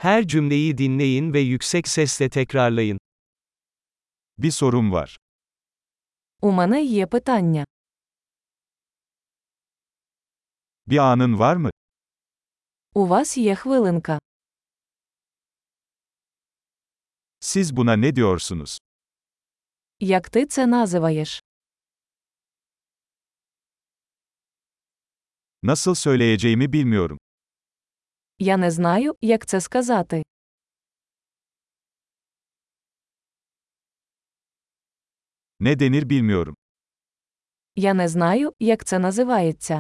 Her cümleyi dinleyin ve yüksek sesle tekrarlayın. Bir sorum var. У мене є питання. Bir anın var mı? У вас є хвилинка. Siz buna ne diyorsunuz? Як ти це називаєш? Nasıl söyleyeceğimi bilmiyorum. Я не знаю, як це сказати. Ne denir bilmiyorum. Я не знаю, як це називається.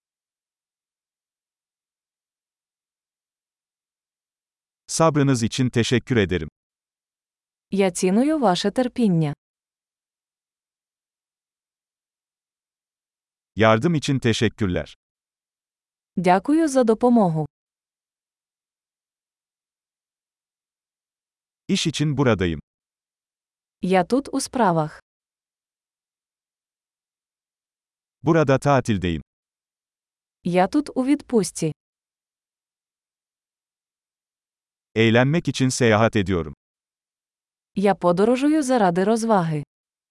Sabrınız için teşekkür ederim. Я ціную ваше терпіння. Yardım için teşekkürler. Дякую за допомогу. İş için buradayım. Я тут у справах. Burada tatildeyim. Я тут у відпустці. Eğlenmek için seyahat ediyorum. Я подорожую заради розваги.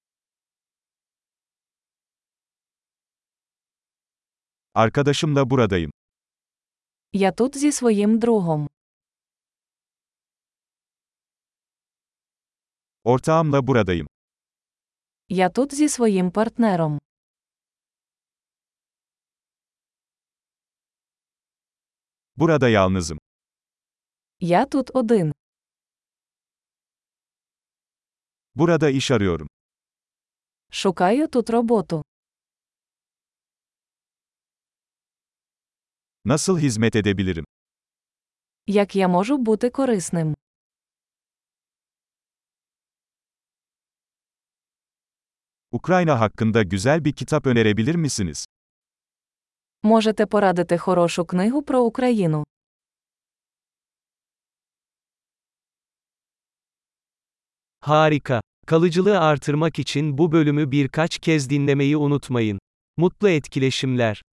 Arkadaşımla buradayım. Я тут зі своїм другом. Ortağımla buradayım. Я тут зі своїм партнером. Burada yalnızım. Я тут один. Burada iş arıyorum. Шукаю тут роботу. Nasıl hizmet edebilirim? Як я можу бути корисним? Ukrayna hakkında güzel bir kitap önerebilir misiniz? Можете порадити хорошу книгу про Україну? Harika. Kalıcılığı artırmak için bu bölümü birkaç kez dinlemeyi unutmayın. Mutlu etkileşimler.